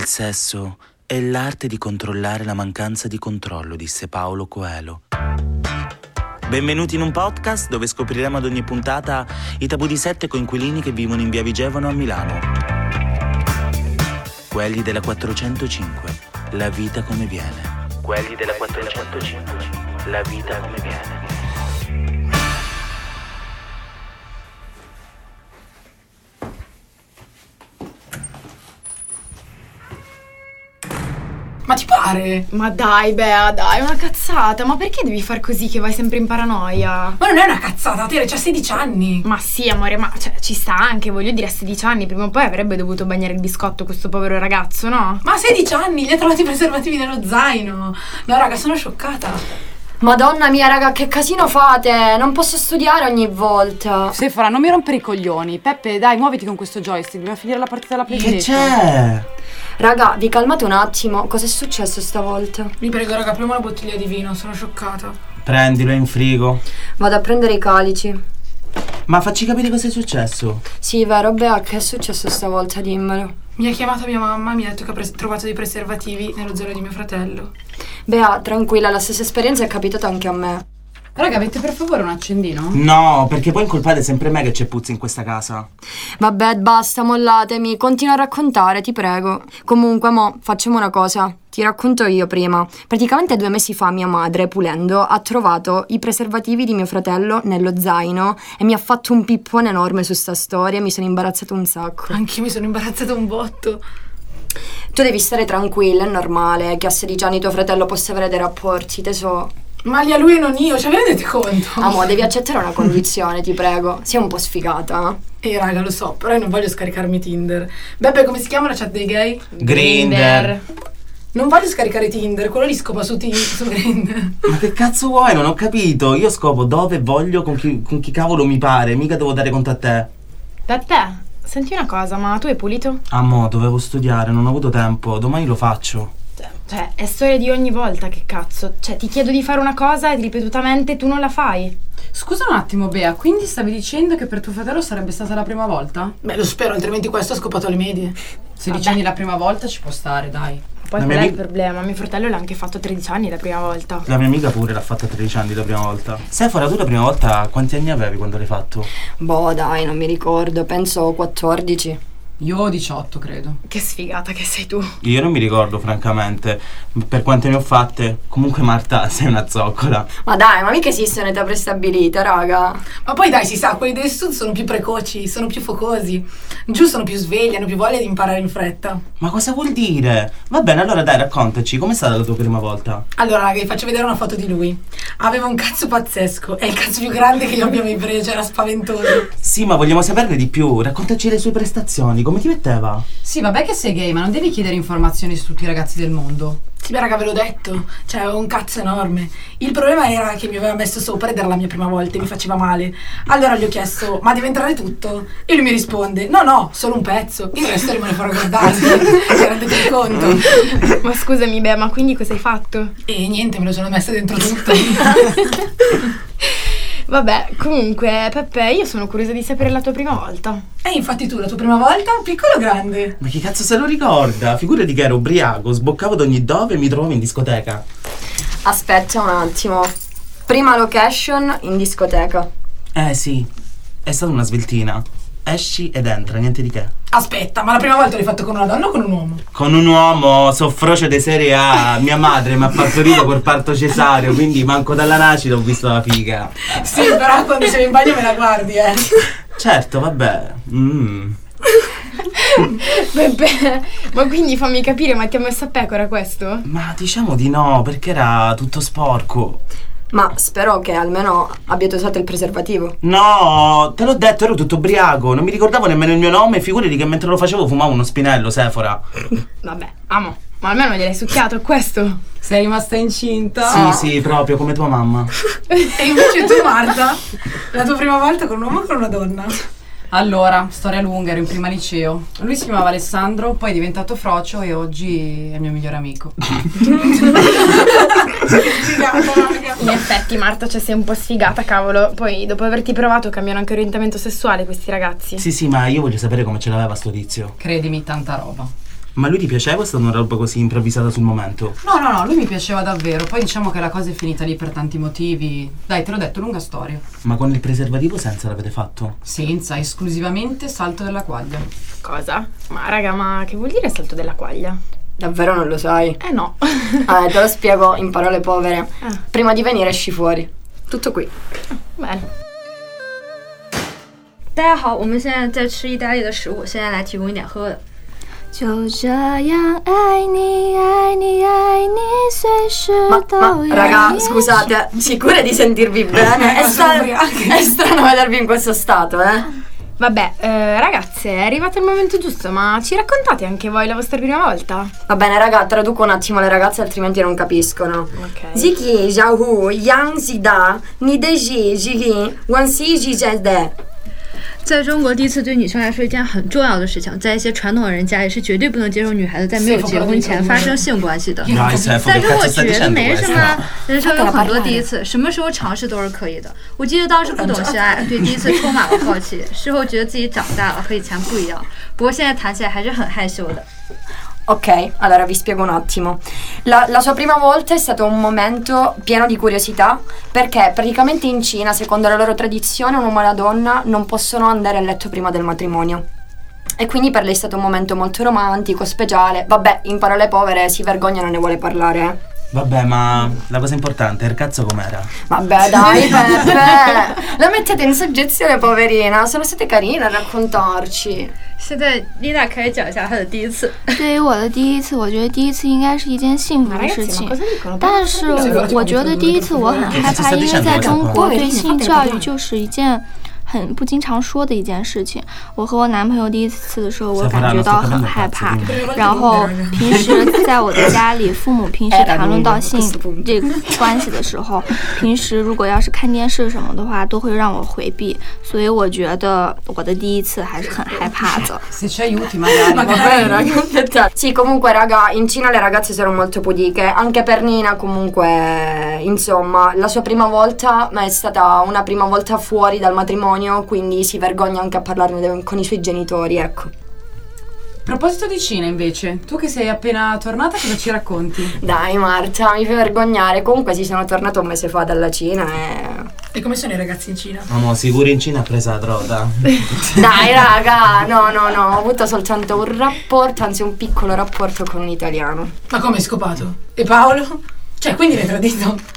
sesso è l'arte di controllare la mancanza di controllo, disse Paulo Coelho. Benvenuti in un podcast dove scopriremo ad ogni puntata i tabù di 7 coinquilini che vivono in via Vigevano a Milano. Quelli della 405, la vita come viene. Quelli della 405, la vita come viene. Ma ti pare? Ma dai, Bea, dai, una cazzata. Ma perché devi far così che vai sempre in paranoia? Ma non è una cazzata, Tere, c'ha 16 anni. Ma sì, amore, ma ci sta anche, voglio dire, a 16 anni prima o poi avrebbe dovuto bagnare il biscotto questo povero ragazzo, no? Ma a 16 anni, gli ha trovato i preservativi nello zaino. No, raga, sono scioccata. Madonna mia, raga, che casino fate! Non posso studiare ogni volta. Sephora, non mi rompere i coglioni. Peppe, dai, muoviti con questo joystick. Dobbiamo finire la partita della PlayStation. Che c'è? Raga, vi calmate un attimo. Cos'è successo stavolta? Vi prego, raga, apriamo una bottiglia di vino, sono scioccata. Prendilo, è in frigo. Vado a prendere i calici. Ma facci capire cosa è successo. Sì, vero, Bea, che è successo stavolta? Dimmelo. Mi ha chiamata mia mamma, mi ha detto che ha trovato dei preservativi nello zaino di mio fratello. Bea, tranquilla, la stessa esperienza è capitata anche a me. Raga, avete per favore un accendino? No, perché poi incolpate sempre me che c'è puzza in questa casa. Vabbè, basta, mollatemi. Continua a raccontare, ti prego. Comunque, mo, facciamo una cosa. Ti racconto io prima. Praticamente 2 mesi fa mia madre, pulendo, ha trovato i preservativi di mio fratello nello zaino e mi ha fatto un pippone enorme su sta storia e mi sono imbarazzata un sacco. Anch'io mi sono imbarazzata un botto. Tu devi stare tranquilla, è normale che a 16 anni tuo fratello possa avere dei rapporti, tesoro. Ma lì a lui e non io, cioè vi rendete conto? Amo, devi accettare una condizione, ti prego. Sei un po' sfigata. Raga, lo so, però io non voglio scaricarmi Tinder. Beppe, come si chiama la chat dei gay? Grindr. Non voglio scaricare Tinder, quello lì scopa su Grindr. Ma che cazzo vuoi? Non ho capito. Io scopo dove voglio, con chi cavolo mi pare. Mica devo dare conto a te. Peppe, senti una cosa, ma tu hai pulito? Mo, dovevo studiare, non ho avuto tempo. Domani lo faccio. Cioè, è storia di ogni volta, che cazzo. Cioè, ti chiedo di fare una cosa e ripetutamente tu non la fai. Scusa un attimo, Bea, quindi stavi dicendo che per tuo fratello sarebbe stata la prima volta? Beh, lo spero, altrimenti questo ha scopato alle medie. 16 anni la prima volta ci può stare, dai. Poi qual è il problema? Mio fratello l'ha anche fatto 13 anni la prima volta. La mia amica pure l'ha fatta a 13 anni la prima volta. Sephora, tu la prima volta quanti anni avevi quando l'hai fatto? Boh, dai, non mi ricordo, penso 14. Io 18, credo. Che sfigata che sei tu. Io non mi ricordo, francamente. Per quante ne ho fatte. Comunque, Marta, sei una zoccola. Ma dai, ma mica esiste un'età prestabilita, raga. Ma poi dai, si sa, quelli del sud sono più precoci, sono più focosi. Giù sono più svegli, hanno più voglia di imparare in fretta. Ma cosa vuol dire? Va bene, allora dai, raccontaci, com'è stata la tua prima volta? Allora, raga, vi faccio vedere una foto di lui. Aveva un cazzo pazzesco, è il cazzo più grande che io abbia mai preso, era spaventoso. Sì, ma vogliamo saperne di più, raccontaci le sue prestazioni, come ti metteva? Sì, vabbè che sei gay, ma non devi chiedere informazioni su tutti i ragazzi del mondo. Sì, beh, raga, ve l'ho detto, cioè aveva un cazzo enorme. Il problema era che mi aveva messo sopra ed era la mia prima volta e mi faceva male. Allora gli ho chiesto, ma deve entrare tutto? E lui mi risponde, no, solo un pezzo, il resto rimane fuori a guardarsi. Si rendete conto? Ma scusami, Bea, ma quindi cosa hai fatto? E niente, me lo sono messa dentro tutto. Vabbè, comunque, Peppe, io sono curiosa di sapere la tua prima volta. Infatti tu, la tua prima volta, piccolo o grande? Ma che cazzo se lo ricorda? Figurati che ero ubriaco, sboccavo da ogni dove e mi trovavo in discoteca. Aspetta un attimo. Prima location in discoteca. Sì, è stata una sveltina. Esci ed entra, niente di che. Aspetta, ma la prima volta l'hai fatto con una donna o con un uomo? Con un uomo, soffroce di serie A. Mia madre mi ha partorito col parto cesareo, quindi manco dalla nascita ho visto la figa. Sì, però quando sei in bagno me la guardi, Certo, vabbè. Peppe, ma quindi fammi capire, ma ti ha messo a pecora questo? Ma diciamo di no, perché era tutto sporco. Ma spero che almeno abbiate usato il preservativo. No, te l'ho detto, ero tutto ubriaco. Non mi ricordavo nemmeno il mio nome. Figurati che mentre lo facevo fumavo uno spinello, Sephora. Vabbè, amo, ma almeno gliel'hai succhiato questo. Sei rimasta incinta? Sì, proprio come tua mamma. E invece tu, Marta, la tua prima volta con un uomo o con una donna? Allora, storia lunga, ero in prima liceo. Lui si chiamava Alessandro, poi è diventato frocio e oggi è il mio migliore amico. In effetti, Marta, cioè sei un po' sfigata, cavolo. Poi dopo averti provato cambiano anche orientamento sessuale questi ragazzi. Sì, ma io voglio sapere come ce l'aveva sto tizio. Credimi, tanta roba. Ma lui ti piaceva o è stata una roba così improvvisata sul momento? No, lui mi piaceva davvero. Poi diciamo che la cosa è finita lì per tanti motivi. Dai, te l'ho detto, lunga storia. Ma con il preservativo senza l'avete fatto? Senza, esclusivamente salto della quaglia. Cosa? Ma raga, ma che vuol dire salto della quaglia? Davvero non lo sai? No. Te lo spiego in parole povere. Prima di venire esci fuori. Tutto qui. Bene. 大家好，我们现在在吃意大利的食物，现在来提供一点喝的。就这样爱你爱你爱你随时都有 raga, scusate, sicure di sentirvi bene? È strano vedervi in questo stato, Vabbè, ragazze, è arrivato il momento giusto, ma ci raccontate anche voi la vostra prima volta? Va bene, raga, traduco un attimo le ragazze, altrimenti non capiscono. Ok. Ziki, Jahu, Yang Zida, Nideji, Jigi, Wansi, Jizede. 在中国，第一次对女生来说一件很重要的事情，在一些传统的人家里是绝对不能接受女孩子在没有结婚前发生性关系的。但是我觉得没什么，人生有很多第一次，什么时候尝试都是可以的。我记得当时不懂性爱，对第一次充满了好奇，事后觉得自己长大了，和以前不一样。不过现在谈起来还是很害羞的。 Ok, allora vi spiego un attimo. La sua prima volta è stato un momento pieno di curiosità, perché praticamente in Cina, secondo la loro tradizione, un uomo e una donna non possono andare a letto prima del matrimonio. E quindi per lei è stato un momento molto romantico, speciale. Vabbè, in parole povere, si vergogna e non ne vuole parlare, Vabbè, ma la cosa importante, il cazzo com'era? Vabbè, dai, Peppe, la mettete in soggezione, poverina. Sono state carine a raccontarci. 现在丽娜开始讲一下她的第一次。 对于我的第一次，我觉得第一次应该是一件幸福的事情，但是我觉得第一次我很害怕，因为在中国对性教育就是一件很不经常说的一件事情。我和我男朋友第一次的时候，我感觉到很害怕。然后平时在我的家里，父母平时谈论到性这个关系的时候，平时如果要是看电视什么的话，都会让我回避。所以我觉得我的第一次还是很害怕的。 Se ci aiuti magari. Sì, comunque raga, in Cina le ragazze sono molto pudiche. Anche per Nina comunque, insomma, la sua prima volta è stata una prima volta fuori dal matrimonio, quindi si vergogna anche a parlarne con i suoi genitori, ecco. A proposito di Cina invece, tu che sei appena tornata cosa ci racconti? Dai Marta, mi fai vergognare. Comunque sì, sono tornata un mese fa dalla Cina E come sono i ragazzi in Cina? No, sicuro in Cina ha presa la droga. Dai raga, no, ho avuto soltanto un rapporto, anzi un piccolo rapporto con un italiano. Ma come hai scopato? E Paolo? Cioè, quindi l'hai tradito?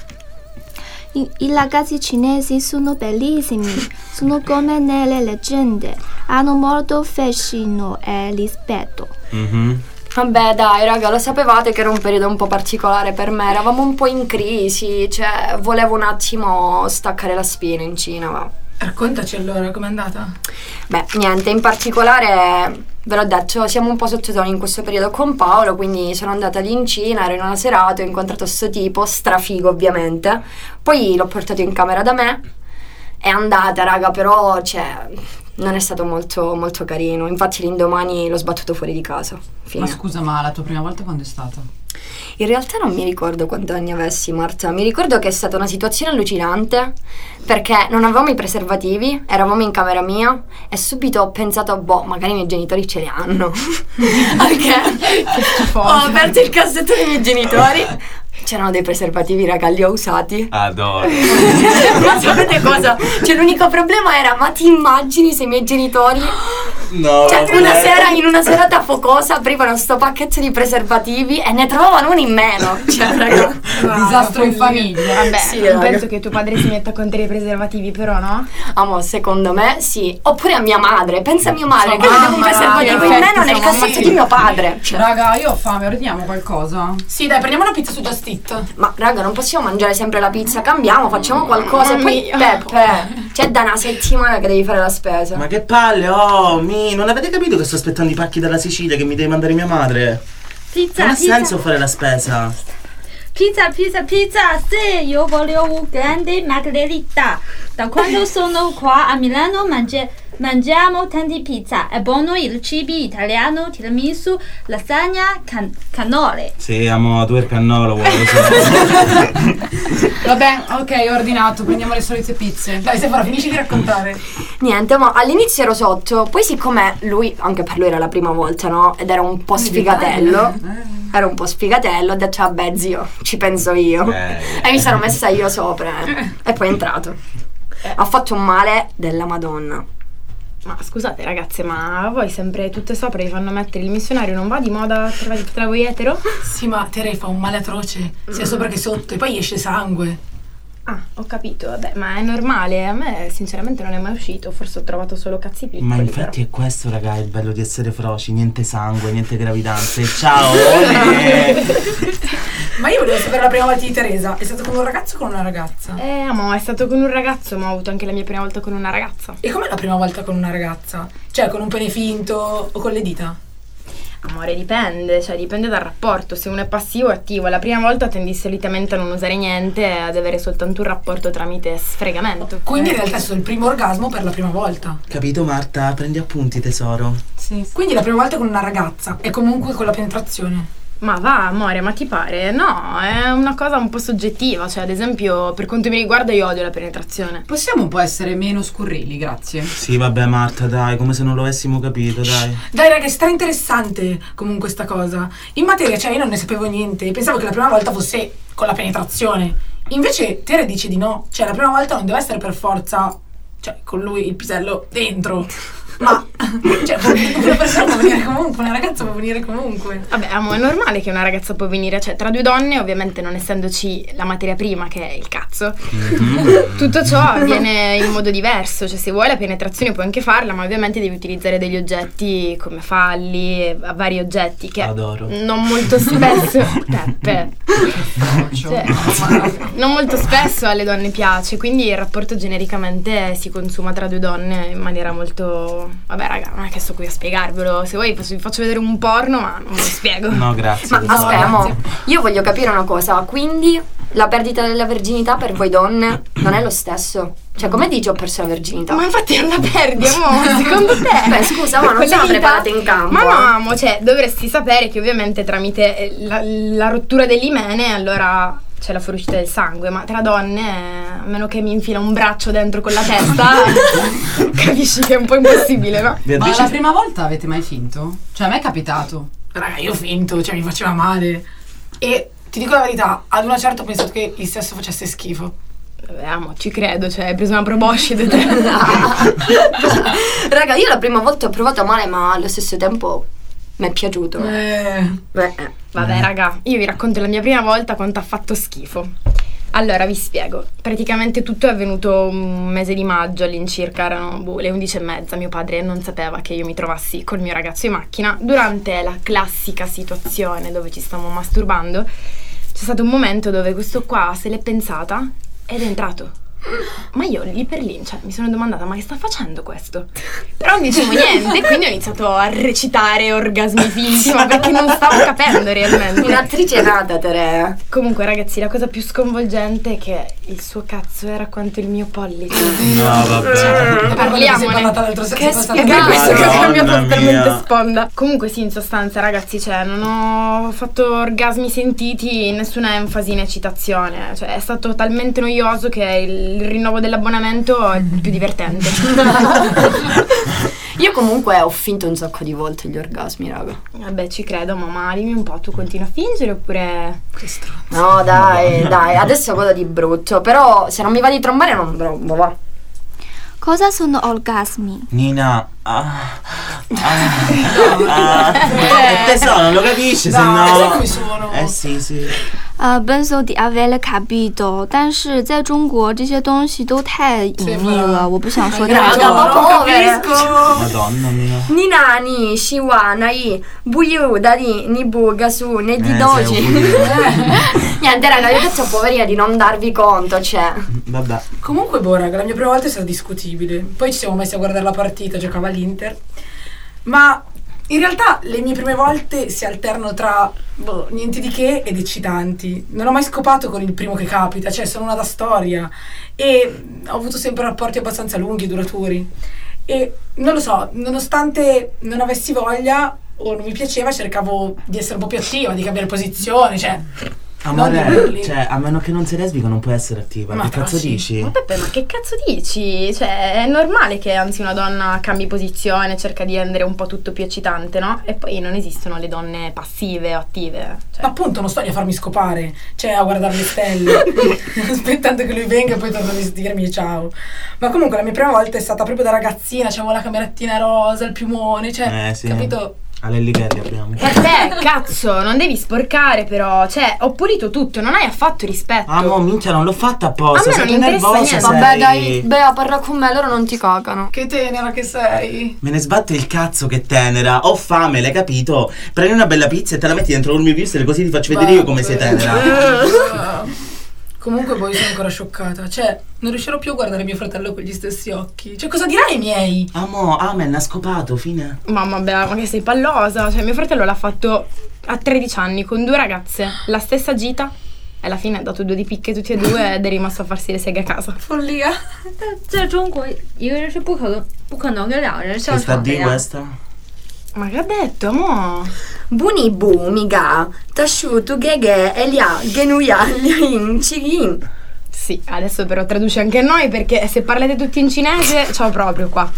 I ragazzi cinesi sono bellissimi, sono come nelle leggende, hanno molto fascino e rispetto. Vabbè dai raga, lo sapevate che era un periodo un po' particolare per me, eravamo un po' in crisi, cioè volevo un attimo staccare la spina in Cina, va. Raccontaci allora, com'è andata? Beh, niente, in particolare ve l'ho detto, siamo un po' sottotono in questo periodo con Paolo, quindi sono andata lì in Cina, ero in una serata, ho incontrato sto tipo, strafigo ovviamente, poi l'ho portato in camera da me, è andata raga, però cioè non è stato molto, molto carino, infatti l'indomani l'ho sbattuto fuori di casa. Fine. Ma scusa, ma la tua prima volta quando è stata? In realtà non mi ricordo quanti anni avessi, Marta. Mi ricordo che è stata una situazione allucinante perché non avevamo i preservativi, eravamo in camera mia e subito ho pensato, boh, magari i miei genitori ce li hanno. Perché ho aperto il cassetto dei miei genitori, c'erano dei preservativi, raga, li ho usati. Adoro. Ma sapete cosa? Cioè l'unico problema era, ma ti immagini se i miei genitori... No, cioè in una serata focosa aprivano sto pacchetto di preservativi e ne trovavano uno in meno. Cioè raga, disastro in famiglia. Vabbè, sì, non penso che tuo padre si metta con te i preservativi, però, no? amo, secondo me sì. Oppure a mia madre, pensa a mia madre che aveva un mamma, preservativo in meno nel cassetto di mio padre. Cioè. Raga, io ho fame, ordiniamo qualcosa? Sì, dai, prendiamo una pizza su Just Eat. Ma raga, non possiamo mangiare sempre la pizza, cambiamo, facciamo qualcosa. E poi Peppe, c'è da una settimana che devi fare la spesa. Ma che palle, non avete capito che sto aspettando i pacchi dalla Sicilia che mi deve mandare mia madre? Pizza, Non ha pizza. senso fare la spesa. Pizza, sì, io voglio un grande margherita. Da quando sono qua a Milano mangiamo tanti pizza. È buono il cibo italiano, tiramisù, lasagna, cannoli. Sì, amo, tu il cannolo vuoi. Vabbè, ok, ho ordinato, prendiamo le solite pizze. Dai, Sephora, finisci di raccontare. Niente, ma all'inizio ero sotto, poi siccome lui, anche per lui era la prima volta, no? Ed era un po' sfigatello. Era un po' sfigatello, ho detto vabbè zio, ci penso io. E mi sono messa io sopra. E poi è entrato. Ha fatto un male della Madonna. Ma scusate ragazze, ma voi sempre tutte sopra vi fanno mettere il missionario, non va di moda tra voi etero? Sì, ma Tere fa un male atroce, sia sopra che sotto, e poi esce sangue. Ah, ho capito, vabbè, ma è normale, a me sinceramente non è mai uscito, forse ho trovato solo cazzi piccoli. Ma infatti però è questo, raga, il bello di essere froci, niente sangue, niente gravidanze, ciao! Ma io volevo sapere la prima volta di Teresa, è stato con un ragazzo o con una ragazza? Amo, è stato con un ragazzo, ma ho avuto anche la mia prima volta con una ragazza. E com'è la prima volta con una ragazza? Cioè, con un pene finto o con le dita? Amore, dipende, cioè dipende dal rapporto. Se uno è passivo o attivo, la prima volta tendi solitamente a non usare niente e ad avere soltanto un rapporto tramite sfregamento. Quindi in realtà è stato il primo orgasmo per la prima volta. Capito Marta? Prendi appunti tesoro. Sì. Quindi la prima volta con una ragazza e comunque con la penetrazione. Ma va amore, ma ti pare? No, è una cosa un po' soggettiva. Cioè ad esempio per quanto mi riguarda io odio la penetrazione. Possiamo un po' essere meno scurrili, grazie. Sì vabbè Marta, dai, come se non lo avessimo capito, dai. Dai raga, è stra-interessante comunque sta cosa. In materia, cioè io non ne sapevo niente. Pensavo che la prima volta fosse con la penetrazione. Invece Tere dice di no. Cioè la prima volta non deve essere per forza, cioè con lui il pisello dentro. Ma cioè una persona può venire comunque, una ragazza può venire comunque. Vabbè, amo, è normale che una ragazza può venire, cioè tra due donne, ovviamente non essendoci la materia prima che è il cazzo. Tutto ciò avviene in modo diverso, cioè se vuoi la penetrazione puoi anche farla, ma ovviamente devi utilizzare degli oggetti come falli, vari oggetti che adoro. Non molto spesso Peppe. Cioè, non molto spesso alle donne piace, quindi il rapporto genericamente si consuma tra due donne in maniera molto... Vabbè raga, non è che sto qui a spiegarvelo. Se vuoi vi faccio vedere un porno, ma non ve lo spiego. No grazie. Ma aspetta, io voglio capire una cosa. Quindi la perdita della verginità per voi donne non è lo stesso? Cioè come dici ho perso la verginità? Ma infatti non la perdi, amore, secondo te? Beh scusa, ma non siamo preparate in campo. Ma no, amo, cioè dovresti sapere che ovviamente tramite la rottura dell'imene allora c'è la fuoriuscita del sangue, ma tra donne, a meno che mi infila un braccio dentro con la testa, capisci che è un po' impossibile, no? Ma la prima volta avete mai finto? Cioè a me è capitato. Raga, io ho finto, cioè mi faceva male. E ti dico la verità, ad una certa ho pensato che il sesso facesse schifo. Vabbè, amo, ci credo, cioè hai preso una proboscide. Raga, io la prima volta ho provato male, ma allo stesso tempo mi è piaciuto. Vabbè raga, io vi racconto la mia prima volta quanto ha fatto schifo. Allora vi spiego, praticamente tutto è avvenuto un mese di maggio all'incirca, erano le 11:30, mio padre non sapeva che io mi trovassi col mio ragazzo in macchina. Durante la classica situazione dove ci stavamo masturbando c'è stato un momento dove questo qua se l'è pensata ed è entrato. Ma io lì per lì, cioè, mi sono domandata ma che sta facendo questo? Però non dicevo niente, quindi ho iniziato a recitare orgasmi finti, ma perché non stavo capendo realmente. Un'attrice nata, Tere. Comunque ragazzi, la cosa più sconvolgente è che il suo cazzo era quanto il mio pollice. No vabbè, cioè, parliamone. Che schifo, questo che ha cambiato totalmente sponda. Comunque sì, in sostanza ragazzi, cioè non ho fatto orgasmi sentiti, nessuna enfasi né eccitazione, cioè è stato talmente noioso che il rinnovo dell'abbonamento è più divertente. Io comunque ho finto un sacco di volte gli orgasmi, raga. Vabbè, ci credo, ma dimmi un po', tu continui a fingere oppure... No, dai, adesso godo di brutto, però se non mi va di trombare non trombo, va. Cosa sono orgasmi? Nina, tesoro, non lo capisci, se no... sì. Penso di aver capito, 但是在中国这些东西都太隐秘了，我不想说太多。 Madonna mia. Ni nani, shiwa, nai, buyu, dadi, ni buga su, ne di doji. Niente raga, io ho detto poverina di non darvi conto, cioè. Vabbè. Comunque raga, la mia prima volta è stata discutibile. Poi ci siamo messi a guardare la partita, giocava l'Inter. Ma In realtà le mie prime volte si alternano tra niente di che ed eccitanti. Non ho mai scopato con il primo che capita, cioè sono una da storia e ho avuto sempre rapporti abbastanza lunghi e duraturi. E non lo so, nonostante non avessi voglia o non mi piaceva, cercavo di essere un po' più attiva, di cambiare posizione, cioè... Amore, cioè, a meno che non sei lesbica non puoi essere attiva. Ma che cazzo dici? Ma Peppe, ma che cazzo dici? Cioè, è normale che anzi una donna cambi posizione, cerca di rendere un po' tutto più eccitante, no? E poi non esistono le donne passive o attive. Cioè. Ma appunto non sto lì a farmi scopare, cioè a guardare le stelle, aspettando che lui venga e poi torno a vestirmi e ciao. Ma comunque la mia prima volta è stata proprio da ragazzina, c'avevo la camerattina rosa, il piumone, cioè, sì. Capito? Alle Lighelli abbiamo. Cazzo, non devi sporcare però. Cioè, ho pulito tutto, non hai affatto rispetto. Ah, minchia, non l'ho fatta apposta. A me non interessa niente. Vabbè, dai, Bea, parla con me, loro non ti cagano. Che tenera che sei. Me ne sbatte il cazzo che tenera. Ho fame, l'hai capito? Prendi una bella pizza e te la metti dentro il mio vister, così ti faccio vedere io come sei tenera. Comunque poi sono ancora scioccata. Cioè, non riuscirò più a guardare mio fratello con gli stessi occhi. Cioè, cosa dirai ai miei? Amen, ha scopato, fine. Mamma Bea, ma che sei pallosa. Cioè, mio fratello l'ha fatto a 13 anni con 2 ragazze, la stessa gita. E alla fine ha dato 2 di picche tutti e 2 ed è rimasto a farsi le seghe a casa. Follia. 在中国一个人是不可能跟2个人上床的呀。 questa? Ma che ha detto, amore? Bunibu, miga, tasciuto, gheghe, elia, genuia, in cigin. Sì, adesso però traduce anche noi perché se parlate tutti in cinese, ciao proprio qua.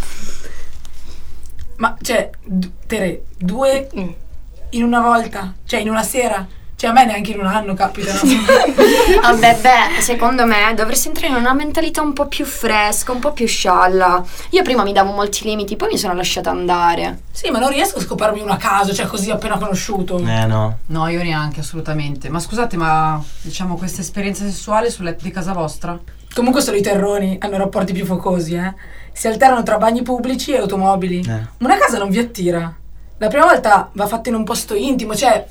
Ma, cioè, Tere, 2 in una volta? Cioè, in una sera? Cioè, a me neanche in un anno capitano. Vabbè, secondo me dovresti entrare in una mentalità un po' più fresca, un po' più scialla. Io prima mi davo molti limiti, poi mi sono lasciata andare. Sì, ma non riesco a scoparmi uno a caso, cioè così appena conosciuto. No. No, io neanche, assolutamente. Ma scusate, ma diciamo questa esperienza sessuale sul letto di casa vostra? Comunque solo i terroni hanno rapporti più focosi, Si alternano tra bagni pubblici e automobili. Una casa non vi attira. La prima volta va fatta in un posto intimo, cioè...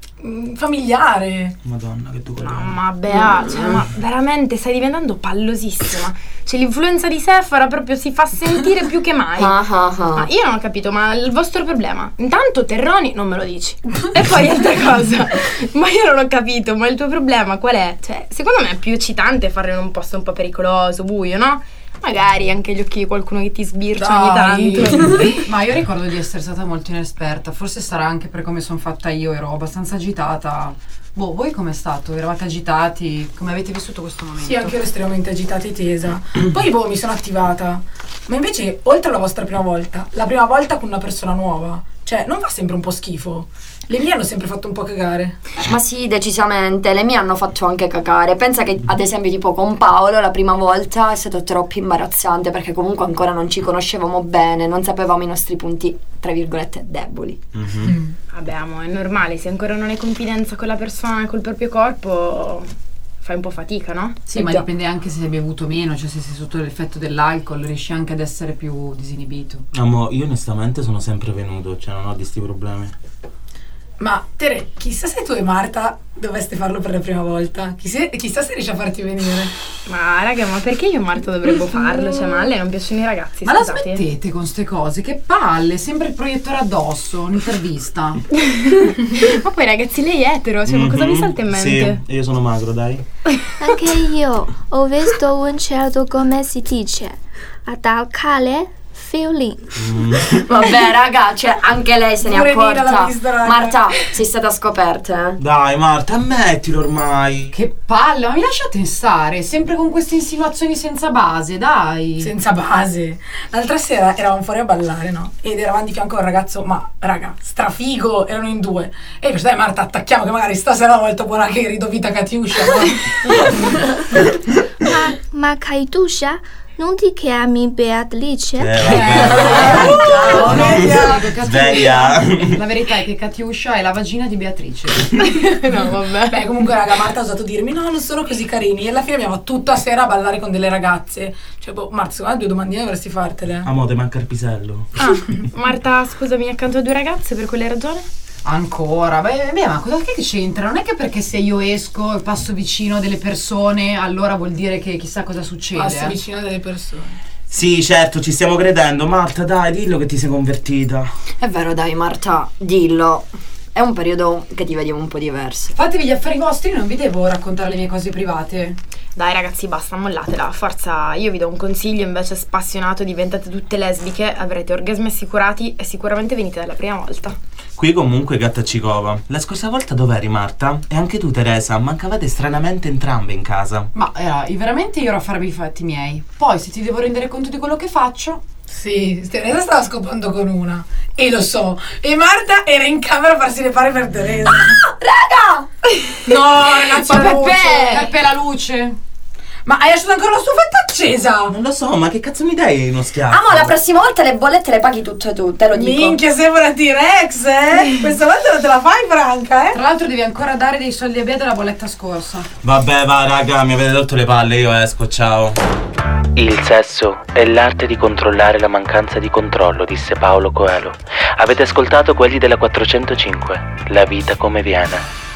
familiare. Madonna, che tu Mamma Bea, cioè, ma veramente stai diventando pallosissima. Cioè, l'influenza di Sephora proprio si fa sentire più che mai. Ma io non ho capito, ma il vostro problema? Intanto terroni non me lo dici. E poi altra cosa. Ma io non ho capito, ma il tuo problema qual è? Cioè, secondo me è più eccitante farlo in un posto un po' pericoloso, buio, no? Magari anche gli occhi di qualcuno che ti sbircia ogni tanto. Ma io ricordo di essere stata molto inesperta. Forse sarà anche per come sono fatta io. Ero abbastanza agitata. Voi com'è stato? Eravate agitati? Come avete vissuto questo momento? Sì, anche io ero estremamente agitata e tesa. Poi mi sono attivata. Ma invece, oltre alla vostra prima volta, la prima volta con una persona nuova, cioè, non fa sempre un po' schifo? Le mie hanno sempre fatto un po' cagare. Ma sì, decisamente, le mie hanno fatto anche cagare. Pensa che ad esempio tipo con Paolo la prima volta è stato troppo imbarazzante, perché comunque ancora non ci conoscevamo bene, non sapevamo i nostri punti, tra virgolette, deboli. Vabbè, amore, è normale, se ancora non hai confidenza con la persona e col proprio corpo fai un po' fatica, no? Sì, ma dipende anche se hai bevuto meno, cioè se sei sotto l'effetto dell'alcol riesci anche ad essere più disinibito. Io onestamente sono sempre venuto, cioè non ho di sti problemi. Ma Tere, chissà se tu e Marta doveste farlo per la prima volta. Chissà se riesci a farti venire. Ma raga, ma perché io e Marta dovremmo farlo? Cioè, ma a lei non piacciono i ragazzi, ma scusate. la smettete con ste cose, che palle, sempre il proiettore addosso, un'intervista. Ma poi ragazzi, lei è etero, cioè ma cosa vi salta in mente? Sì, io sono magro, dai. Anche io ho visto un certo, come si dice, attaccare feeling. Vabbè raga, cioè anche lei se ne è Pure Nina l'ha accorta. vista, raga. Marta, sei stata scoperta, Dai Marta, ammettilo ormai. Che palle, ma mi lasciate stare, sempre con queste insinuazioni senza base, dai. Senza base. L'altra sera eravamo fuori a ballare, no? Ed eravamo di fianco a un ragazzo, ma raga, strafigo, erano in 2. E io dai Marta, attacchiamo che magari stasera è molto buona che ridovita Katiuscia, no? Ma Katiuscia? Non ti chiami Beatrice? Sveglia. La verità è che Katiuscia è la vagina di Beatrice. No, vabbè. Beh, comunque raga, Marta ha osato dirmi no, non sono così carini. E alla fine abbiamo tutta sera a ballare con delle ragazze. Cioè, Marta, secondo me 2 domandine dovresti fartele. Amore, manca il pisello. Marta, scusami, accanto a 2 ragazze, per quale ragione? Ancora? Beh, ma cosa che c'entra? Non è che perché se io esco e passo vicino a delle persone allora vuol dire che chissà cosa succede. Passi vicino a delle persone. Sì, certo, ci stiamo credendo. Marta, dai, dillo che ti sei convertita. È vero, dai, Marta, dillo. È un periodo che ti vediamo un po' diverso. Fatevi gli affari vostri, non vi devo raccontare le mie cose private. Dai ragazzi, basta, mollatela. Forza, io vi do un consiglio invece spassionato, diventate tutte lesbiche, avrete orgasmi assicurati e sicuramente venite dalla prima volta. Qui comunque gatta ci cova. La scorsa volta dov'eri, Marta? E anche tu, Teresa, mancavate stranamente entrambe in casa. Ma veramente io ero a farvi i fatti miei. Poi se ti devo rendere conto di quello che faccio... Sì, Teresa stava scopando con una. E lo so. E Marta era in camera a farsi le pare per Teresa. Raga! No, ragazzi, ma la luce. Peppe la luce. Ma hai lasciato ancora la stufetta accesa? Non lo so, ma che cazzo mi dai uno schiaffo? Ma la prossima volta le bollette le paghi tutte tu, te lo dico. Minchia, sembra T-Rex, Questa volta non te la fai franca, Tra l'altro devi ancora dare dei soldi a Bea della bolletta scorsa. Vabbè, va, raga, mi avete rotto le palle, io esco, ciao. Il sesso è l'arte di controllare la mancanza di controllo, disse Paolo Coelho. Avete ascoltato Quelli della 405, la vita come viene.